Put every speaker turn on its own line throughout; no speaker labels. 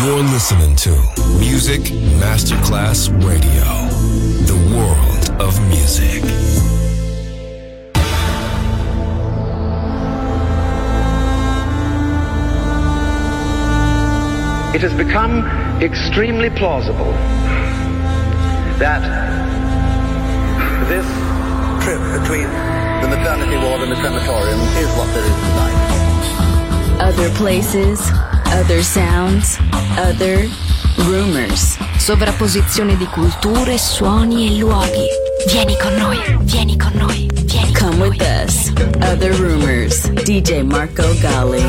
You're listening to Music Masterclass Radio, the world of music.
It has become extremely plausible that this trip between the maternity ward and the crematorium is what there is tonight.
Other places, other sounds, other rumors. Sovrapposizione di culture, suoni e luoghi. Vieni con noi, vieni con noi, vieni con noi. Come with us. Other Rumors. DJ Marco Gally.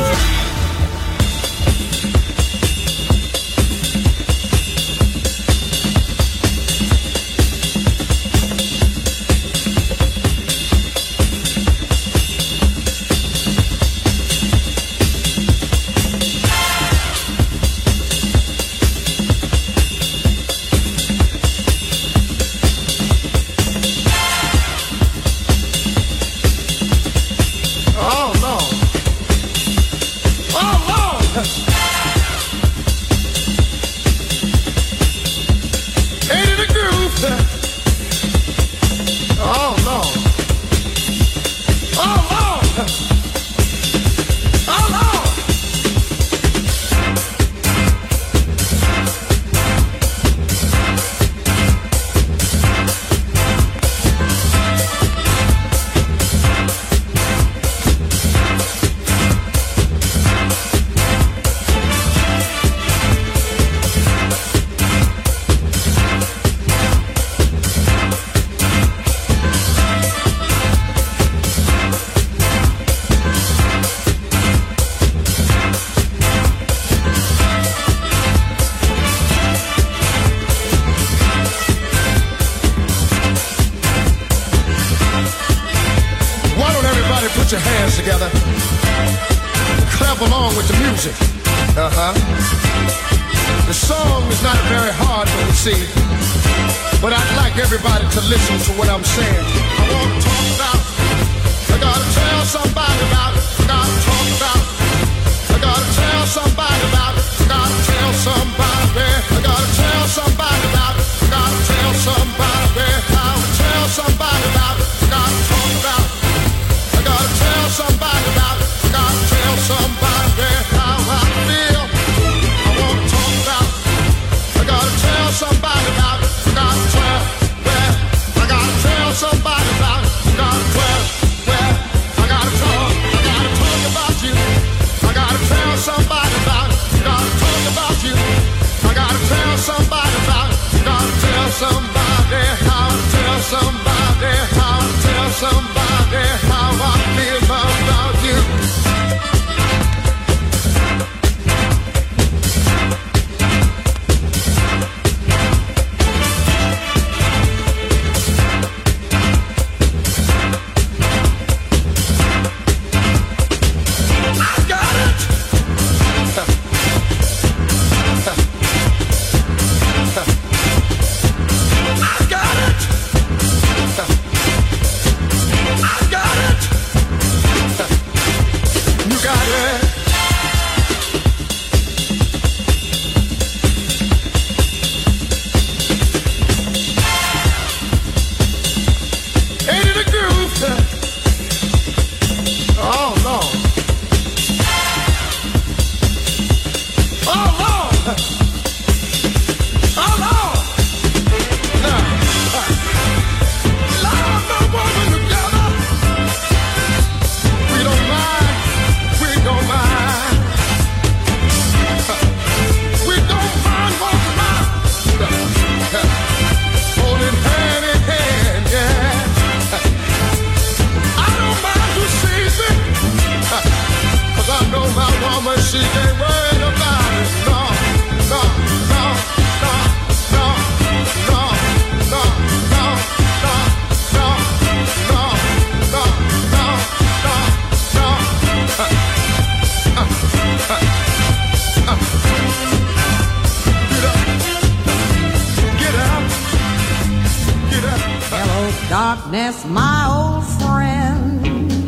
Darkness, my old friend,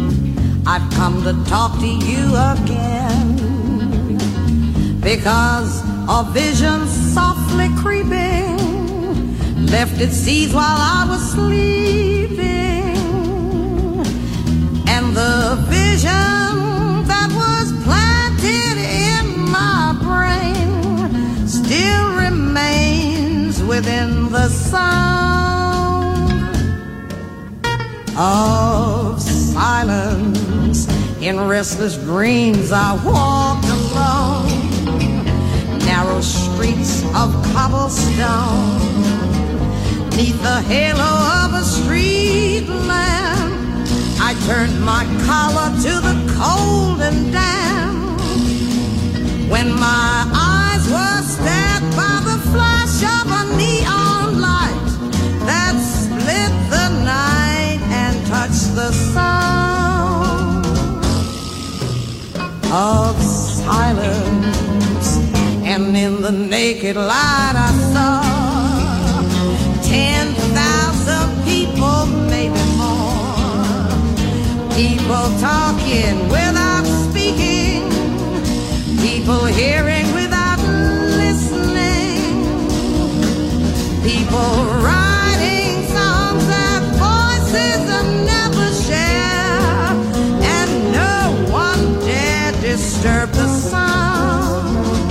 I've come to talk to you again, because a vision softly creeping left its seeds while I was sleeping, and the vision that was planted in my brain still remains within the sound of silence. In restless dreams I walked alone narrow streets of cobblestone, neath the halo of a street lamp. I turned my collar to the cold and damp, when my eyes were stabbed by the flash of a neon light that split the night and touched the sound of silence. And in the naked light I saw 10,000 people, maybe more. People talking without speaking, people hearing without listening, people writing songs that voices never share, and no one dared disturb the sound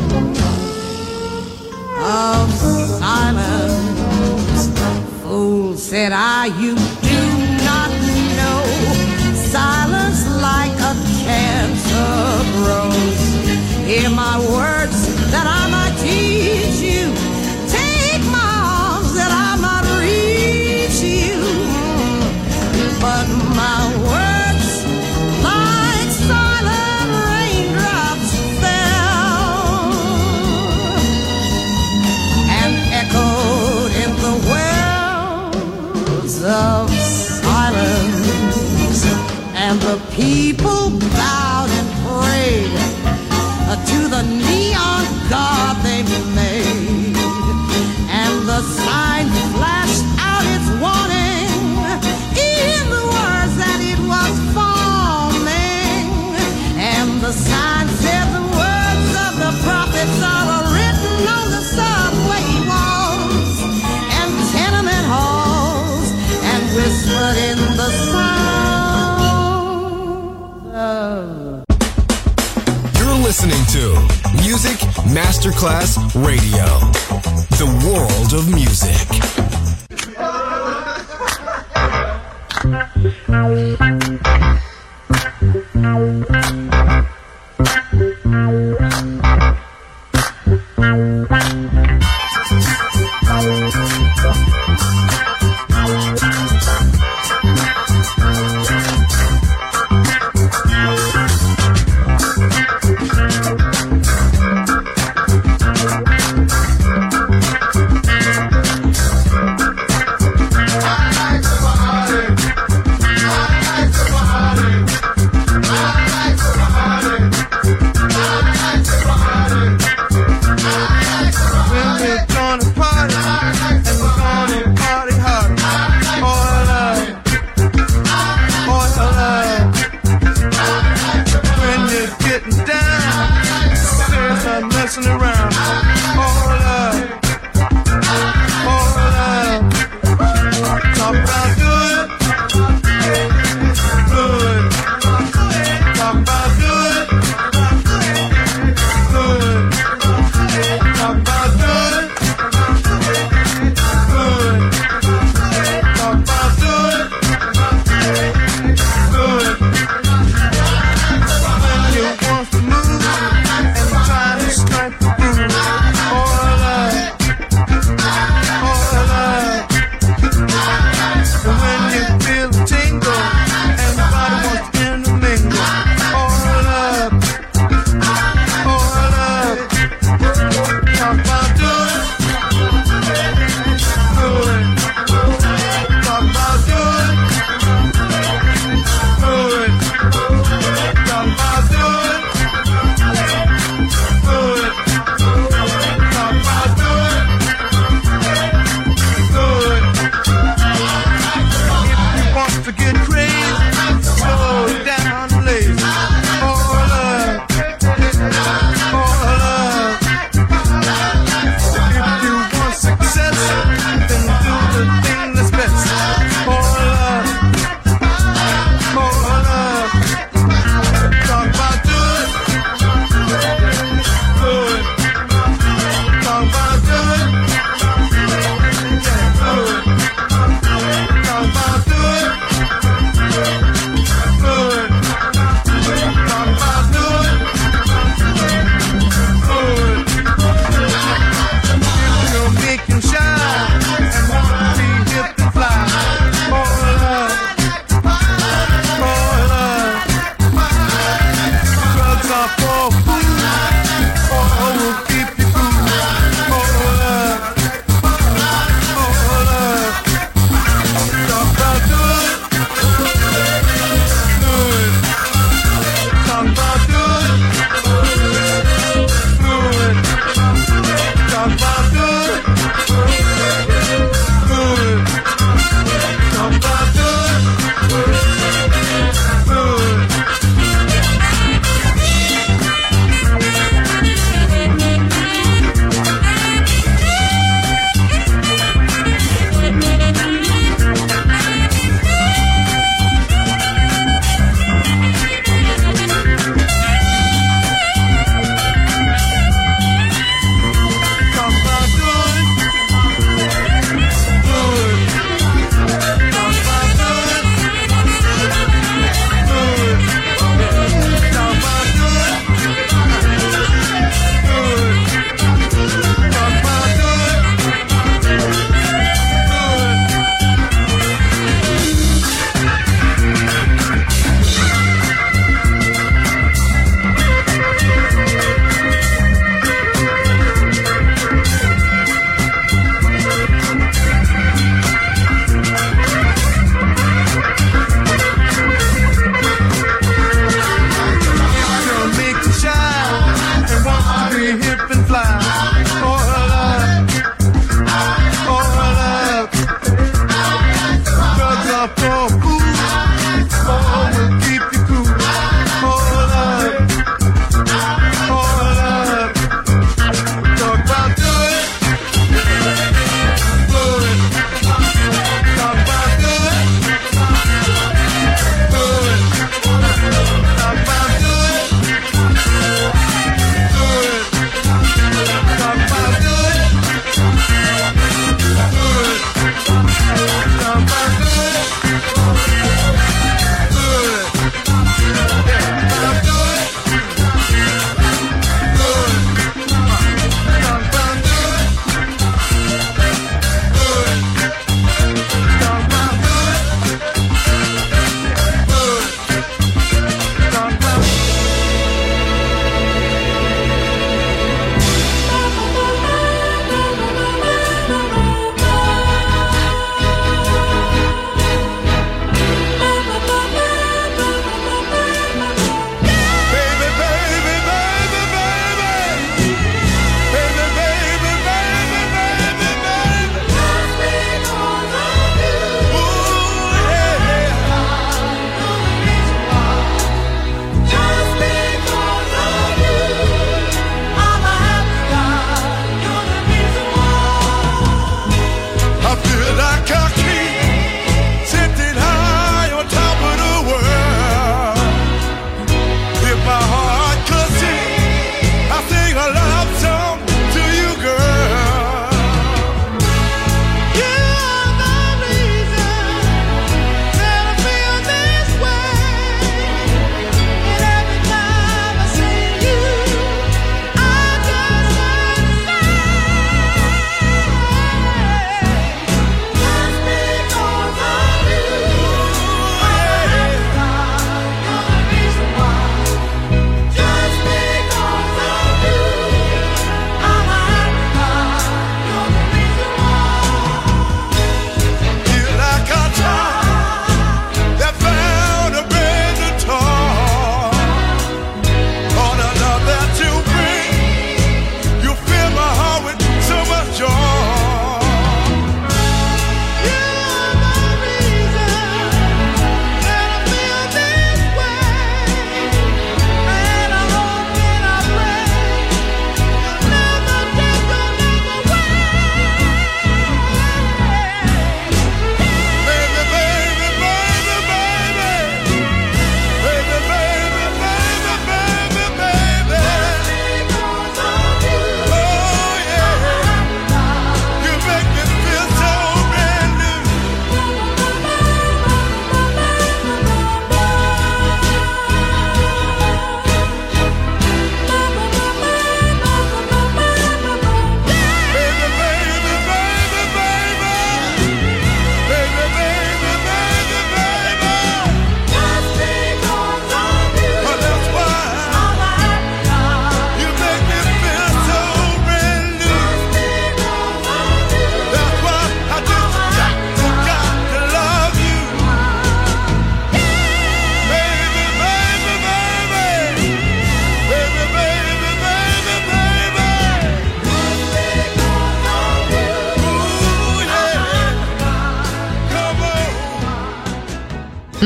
of silence. Fool, said I, you do not know silence like a cancer grows. Hear my words that I might teach you, take my arms that I might reach you, but my words like silent raindrops fell and echoed in the wells of silence, and the people bowed and prayed to the neon god they made, and the sign flashed out its warning in the words that it was forming, and the sign said the words of the prophets are written on the subway walls and tenement halls, and whispered in the sound of.
You're listening to Music Masterclass Radio, the world of music.
Trying to strike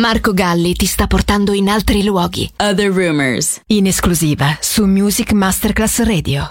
Marco Galli ti sta portando in altri luoghi. Other Rumors, in esclusiva su Music Masterclass Radio.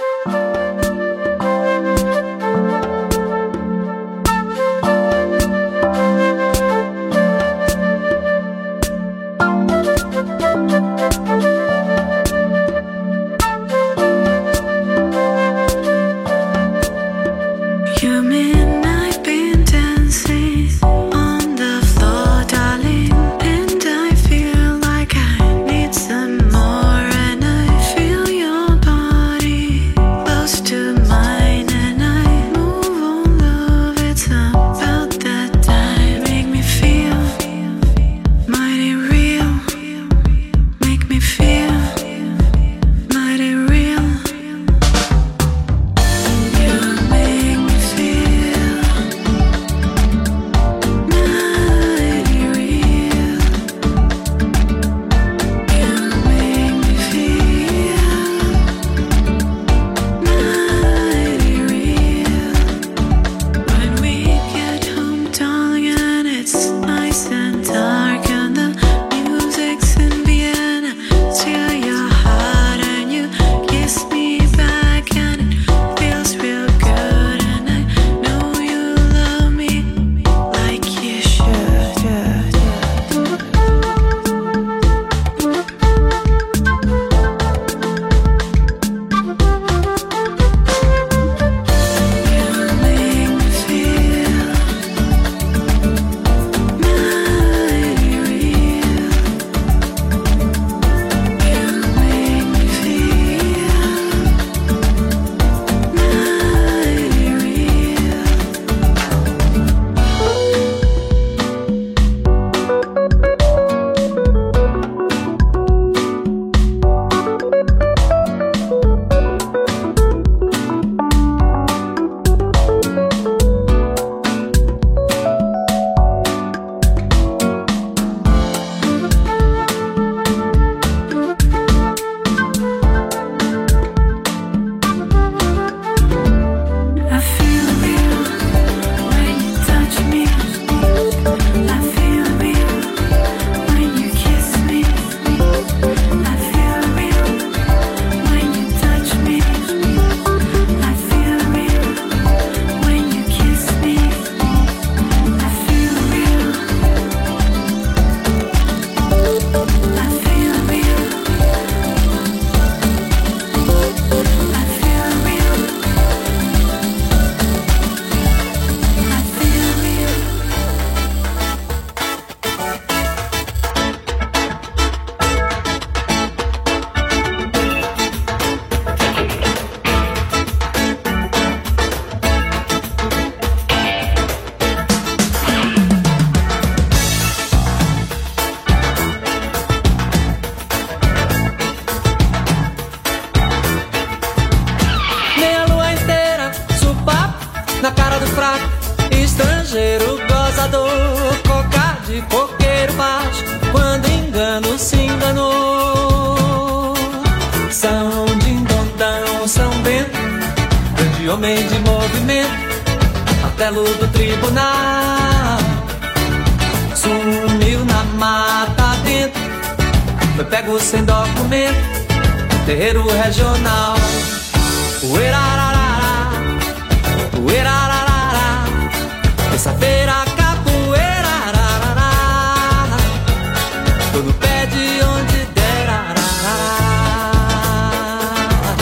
na cara do fraco, estrangeiro gozador, coca de coqueiro baixo, quando engano se enganou. São Dindondão, São Bento, grande homem de movimento, martelo do tribunal, sumiu na mata dentro, foi pego sem documento, terreiro regional. Uerararara, uerararara, terça-feira capoeira, arararara, tô no pé de onde der, arararara.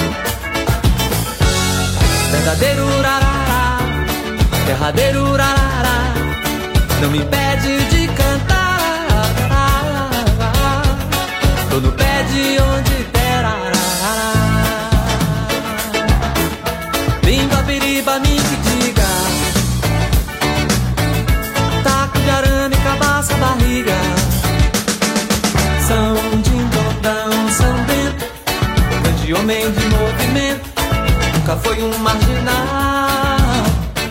Verdadeiro urarará, derradeiro urarará, não me impede de cantar, arararara, tô no pé de onde der, arararara. Bimba, biriba, me que diga, taco de arame, cabaça, barriga. São Dindondão, São Bento, grande homem de movimento, nunca foi um marginal.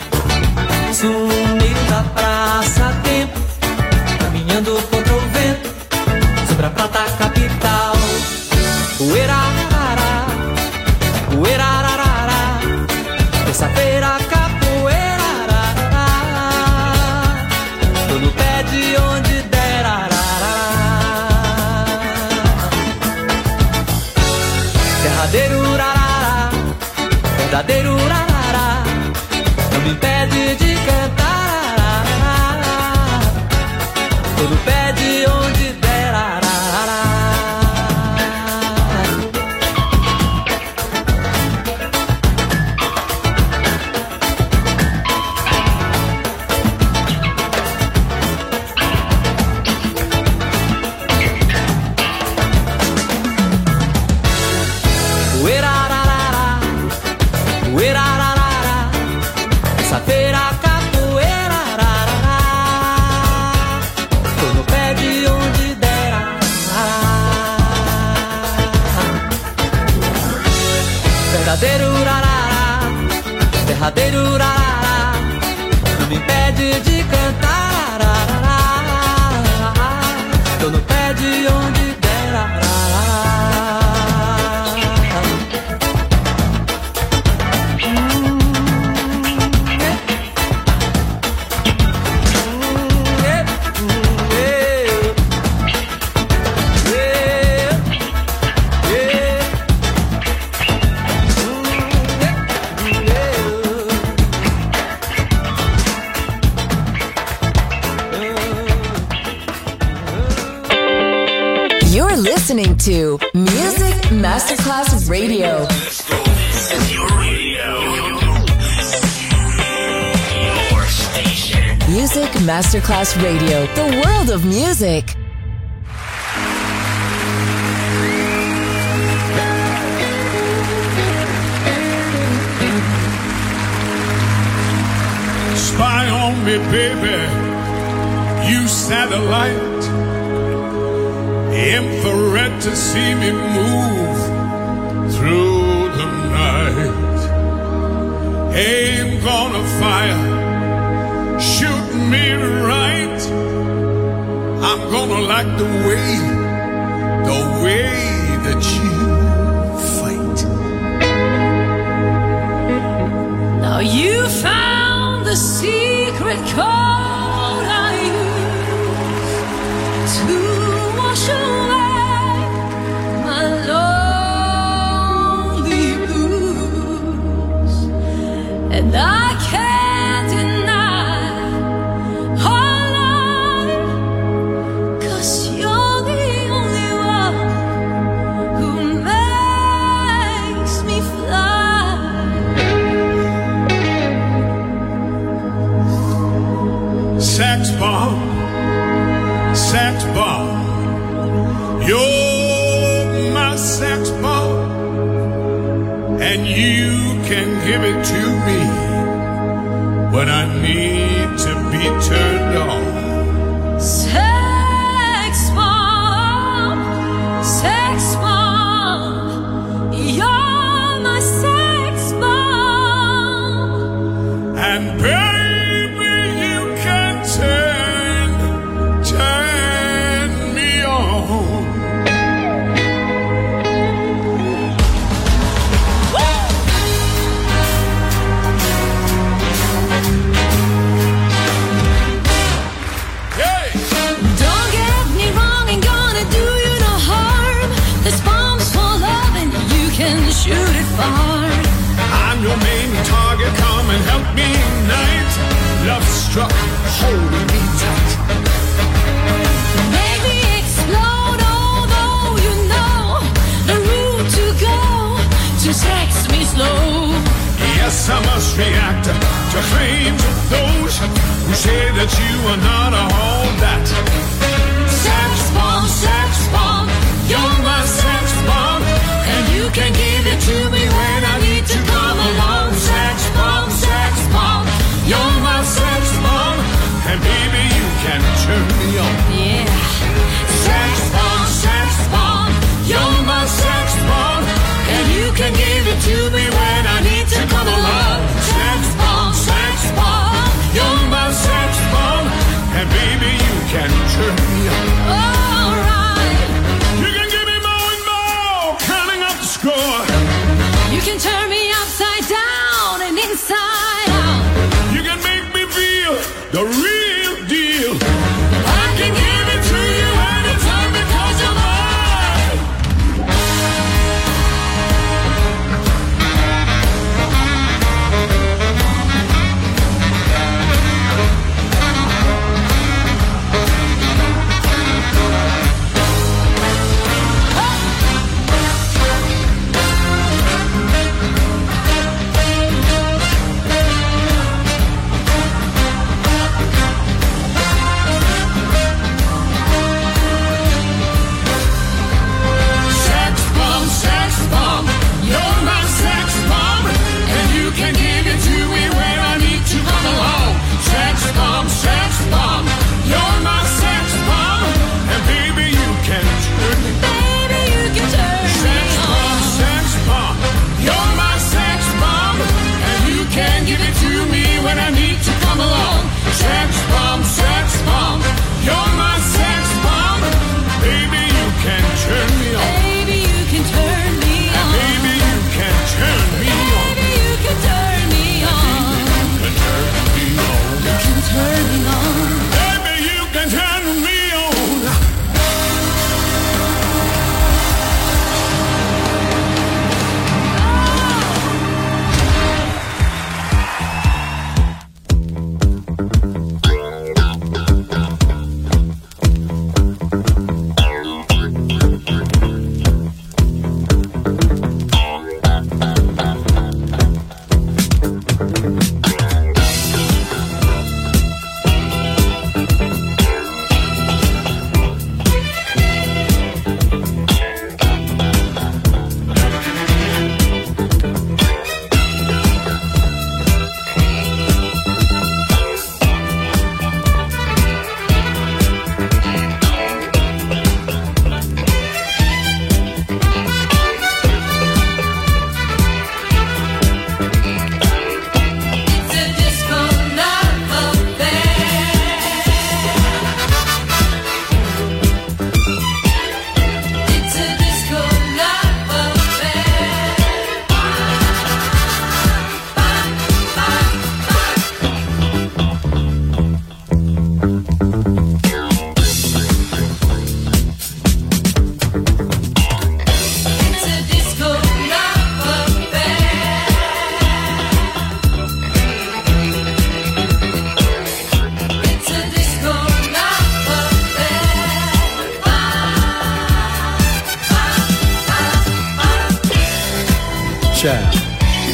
Sumiu da praça tempo, caminhando contra o vento, sobre a prata capital. Uerararara, uerararara, terça-feira capoeira, ararará, tô no pé de onde der, arará. verdadeiro rarará não me impede de cantar. Todo pé de onde der arará. Verdadeiro rarará, derradeiro rarará, não me impede de cantar. Tô no pé de onde der
Listening to Music Masterclass Radio.
This is your radio. Your station.
Music Masterclass Radio. The world of music.
Spy on me, baby. You satellite. Infrared to see me move through the night. Aim gonna fire, shoot me right. I'm gonna like the way that you fight.
Now you found the secret code I use to wash away my lonely blues, and I can't deny our love, 'cause you're the only one who makes me fly.
Sax bomb, you're my sax bomb, and you can give it to me when I need to be turned on.
Sex bomb, you're my sex bomb,
And baby, you can turn me on. Hey!
don't get me wrong, ain't gonna do you no harm. This bomb's for love and you can shoot it far.
I'm your main target, come and help me ignite. Love struck, holding me tight.
Make me explode, although you know the route to go to sex me slow.
Yes, I must react to claims of those who say that you are not all that.
Sex bomb, you're my sex bomb, and you can give it to me when I need to come along. Sex bomb,
You're my sex bomb, and baby, you can turn me on.
yeah. Sex bomb,
You're my sex bomb,
and you can give it to me when I need to come along. Sex bomb,
you're my sex bomb, and baby, you can turn me on.
alright.
You can give me more and more, counting up the score.
You can turn me upside down and inside out.
You can make me feel the real deal.
I can give it to you anytime because you're mine.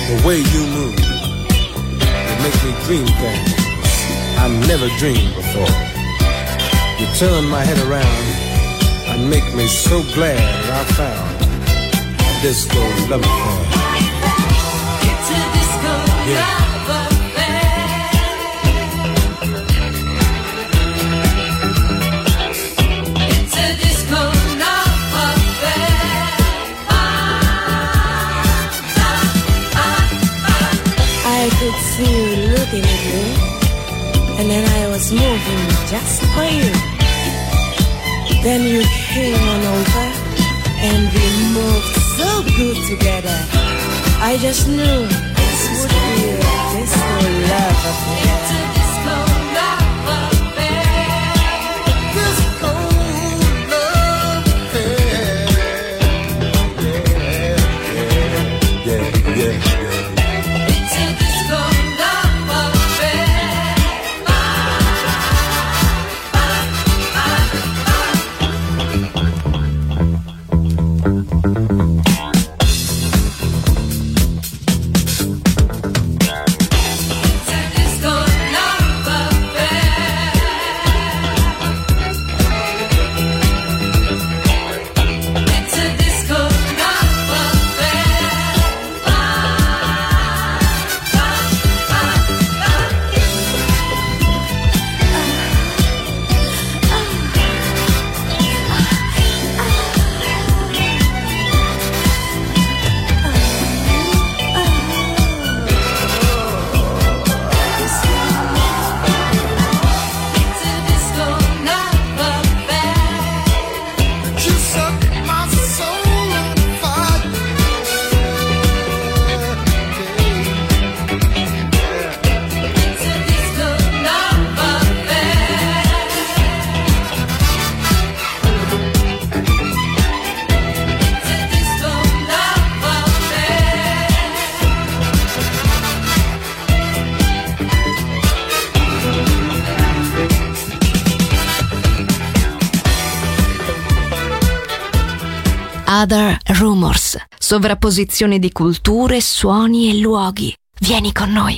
The way you move, it makes me dream things I never dreamed before. You turn my head around and make me so glad that I found a disco love affair.
It's a disco love affair. It's a disco love affair.
I could see you looking at me, and then I was moving just for you. Then you came on over, and we moved so good together. I just knew this would be a disco love affair.
It's a disco love affair.
Disco love affair. Yeah.
It's a disco love affair. It's a disco love affair. It's a disco love affair. It's a disco love affair.
You set my soul on fire.
It's a disco love affair. It's a disco love affair.
Other Rumors, sovrapposizione di culture, suoni e luoghi. Vieni con noi.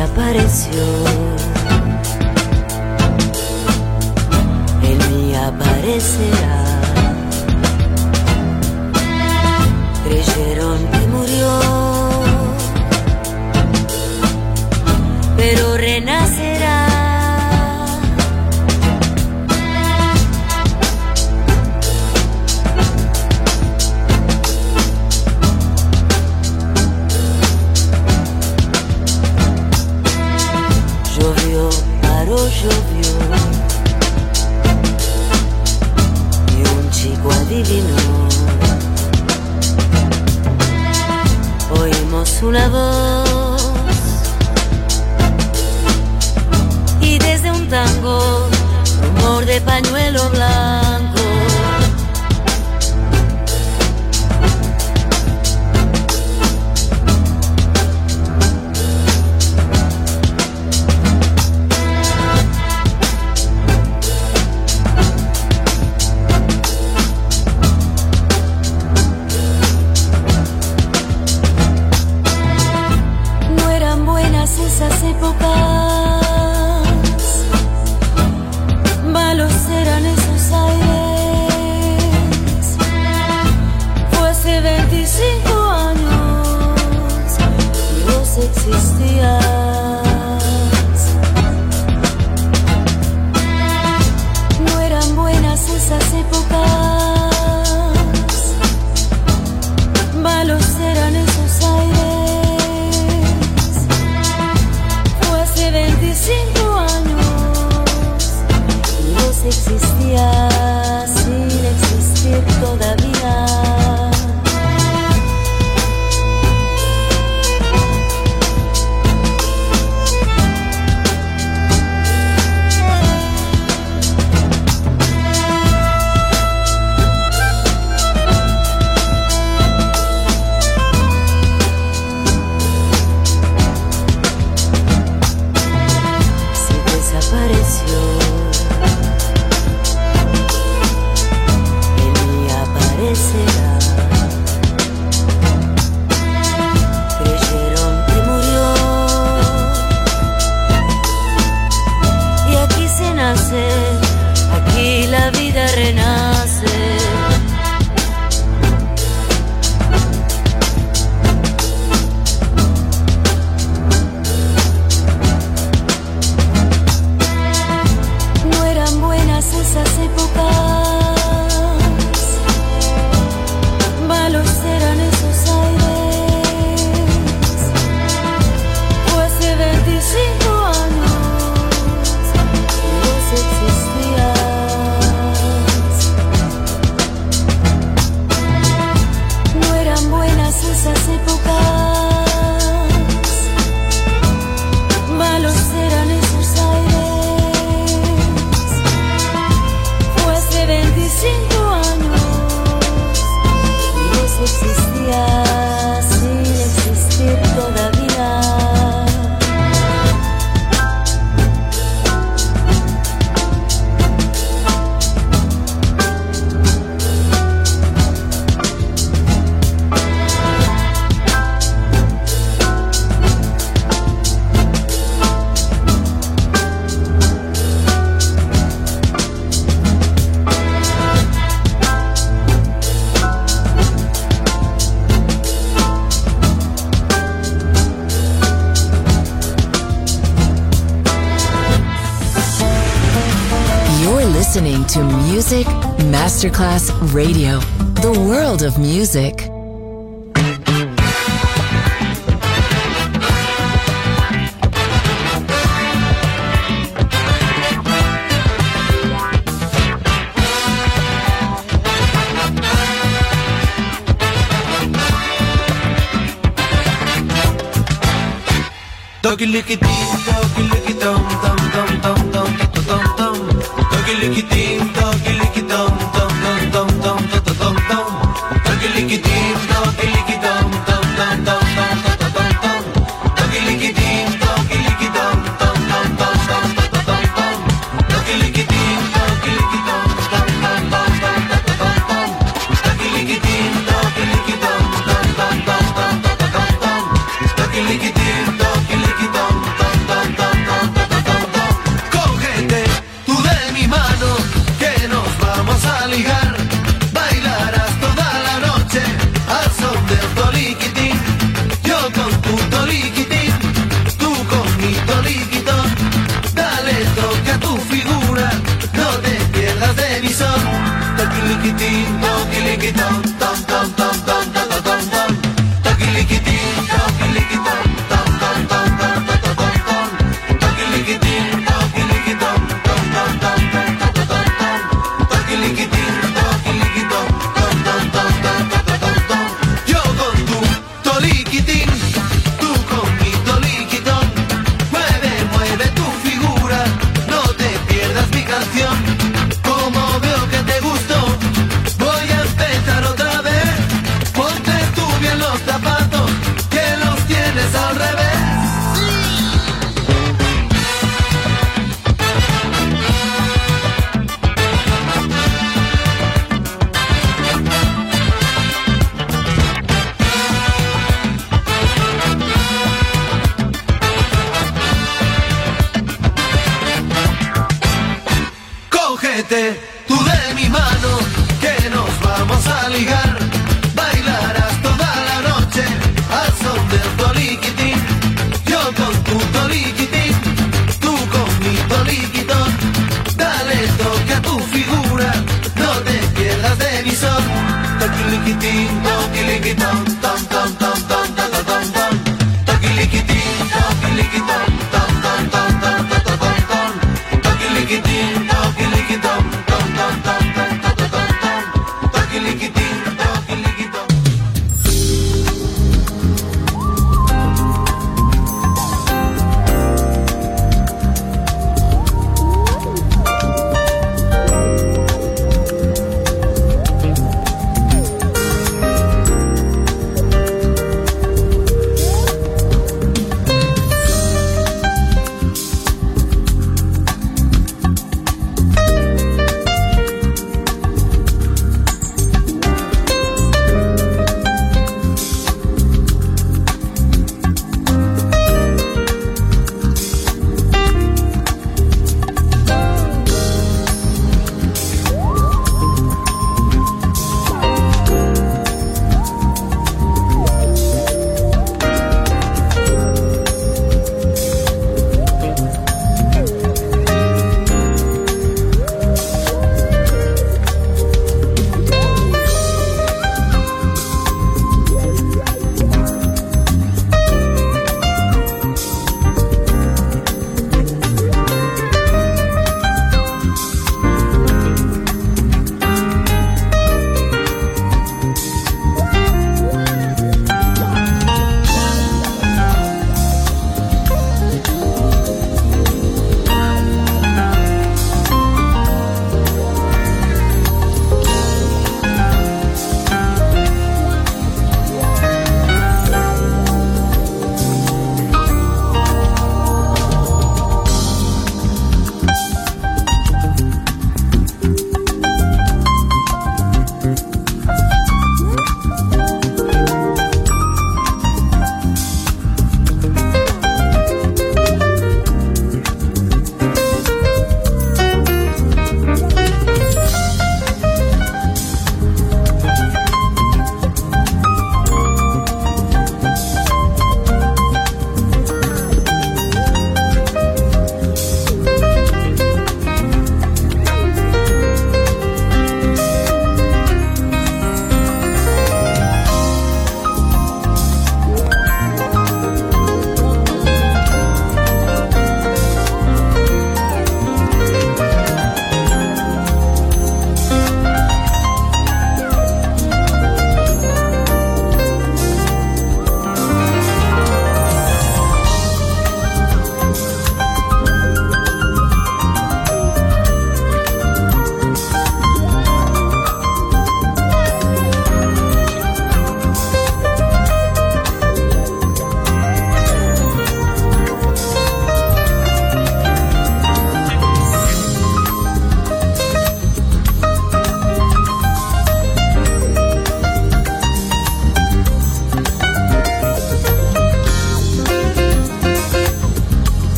desapareció. Él me aparecerá. Creyeron que murió, pero renacerá. Llovió, paró, llovió, y un chico adivinó. Oímos una voz y desde un tango, rumor de pañuelo blanco. Esas épocas, malos eran esos aires. Fue hace 25 años y vos existías. No eran buenas esas épocas, malos eran esos aires. 25 años y vos existías sin existir todavía. Creyeron que murió y aquí se nace, aquí la vida renace. No eran buenas esas épocas, malos eran esos aires. Fue hace 25 años y vos existías. No eran buenas esas épocas, malos eran esos aires. Fue hace 25 años existía sin existir todavía.
Listening to Music Masterclass Radio, the world of music.
Doggy licky dee, doggy licky dum dum dum dum dum dum dum. Doggy licky dee, doggy licky dum dum dum dum dum dum dum. Doggy licky dee, doggy licky dum dum dum dum dum dum dum. Doggy licky dee, doggy licky dum dum dum dum dum dum dum. Doggy licky dee, doggy licky dum dum dum dum dum dum dum. Doggy licky dee, doggy licky dum dum dum dum dum dum dum. Doggy licky dee, doggy licky dum dum. vamos a ligar. Bailarás toda la noche al son del toliquitín. Yo con tu toliquitín, tú con mi toliquitón. Dale toque a tu figura, no te pierdas de mi son. Toquiliquitín, toquiliquitón, tom tom tom tom tom tom tom. Toquiliquitín, toquiliquitón, tom tom tom tom tom tom tom. Toquiliquitín, toquiliquitón, tom tom tom tom tom tom tom. Toquiliquitín, toquiliquitón, tom tom tom tom tom tom tom. Yo con tu toliquitín, tú con mi toliquitón. Mueve, mueve tu figura, no te pierdas mi canción. Como veo que te gustó, voy a empezar otra vez. Ponte tú bien los zapatos, que los tienes al revés. Cógete tú de mi mano, que nos vamos a ligar. Bailarás toda la noche al son del toliquitín. Yo con tu toliquitín, tú con mi toliquitón. Dale toque a tu figura, no te pierdas de mi son. Toquiliquitín, toquiliquitón, tom tom tom tom tom tom tom. Toquiliquitín, toquiliquitón, tom tom tom tom tom tom tom. Toquiliquitín, toquiliquitón, tom tom tom tom tom tom tom. Toquiliquitín, toquiliquitón.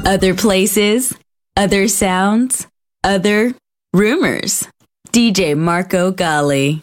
other places, other sounds, other rumors. DJ Marco Gally.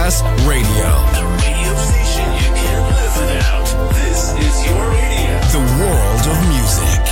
Masterclass Radio.
The radio station you can't live without. This is your radio.
The world of music.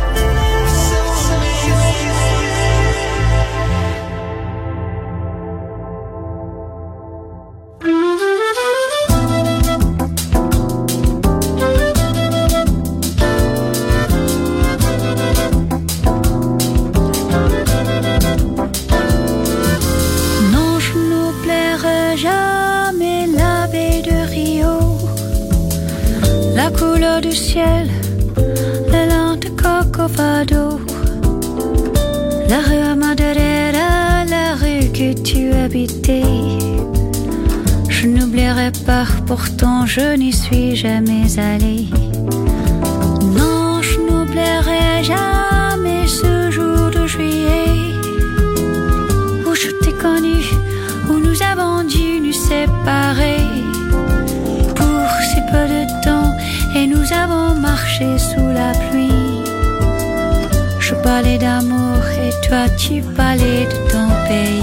Du ciel, la lente Corcovado, la rue Madeira, la rue que tu habitais. Je n'oublierai pas, pourtant je n'y suis jamais allée. Non, je n'oublierai jamais ce jour de juillet où je t'ai connu, où nous avons dû nous séparer pour si peu de temps. Et nous avons marché sous la pluie. Je parlais d'amour et toi tu parlais de ton pays.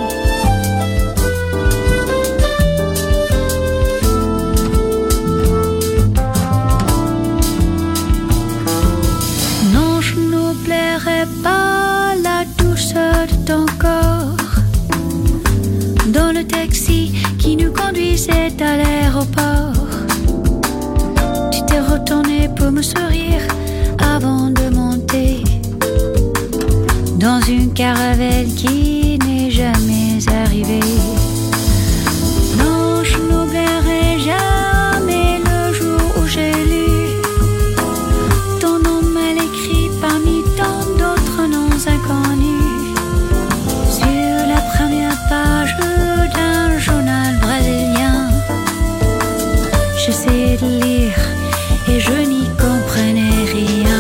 Non, je n'oublierai pas la douceur de ton corps dans le taxi qui nous conduisait à l'aéroport. Retourné pour me sourire avant de monter dans une caravelle qui n'est jamais arrivée. Non, je n'oublierai jamais le jour où j'ai lu ton nom mal écrit parmi tant d'autres noms inconnus sur la première page d'un journal brésilien. J'essayais de lire et je n'y comprenais rien.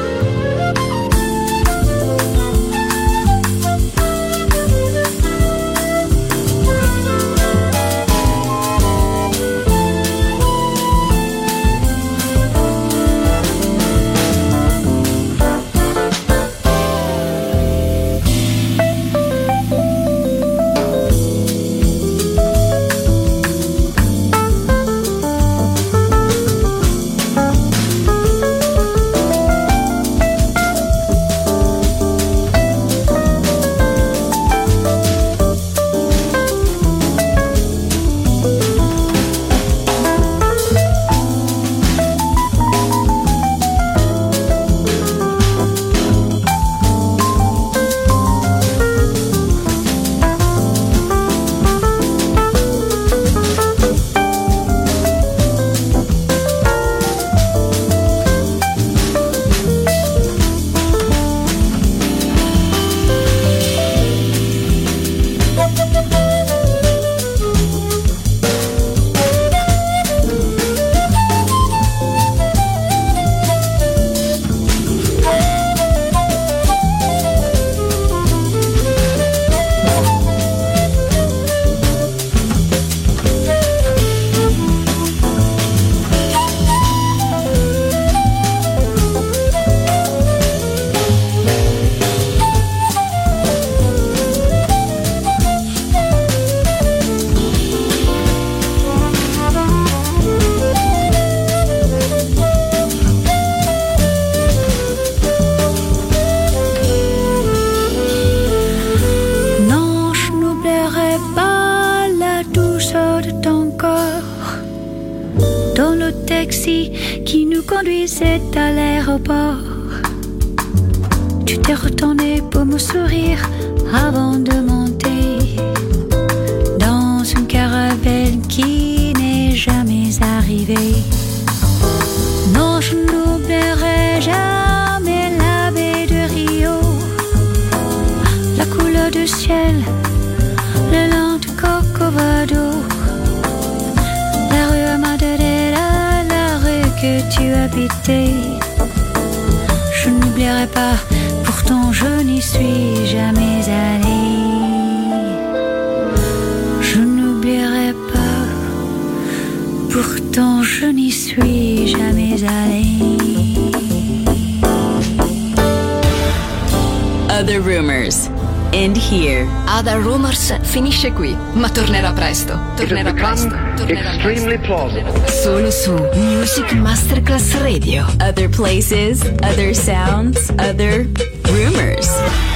Qui nous conduisait à l'aéroport. Tu t'es retourné pour me sourire avant de monter dans une caravelle qui n'est jamais arrivée. Non, je n'oublierai jamais la baie de Rio, la couleur du ciel, le long de Corcovado, la rue Madeira, la rue que tu habitais. Je n'oublierai pas, pourtant je n'y suis jamais allée. Je n'oublierai pas, pourtant je n'y suis jamais allée.
Other Rumors, end here. Other Rumors finisce qui, ma tornerà presto. Tornerà presto.
Extremely plausible.
Solo su Music Masterclass Radio. Other places, other sounds, other rumors.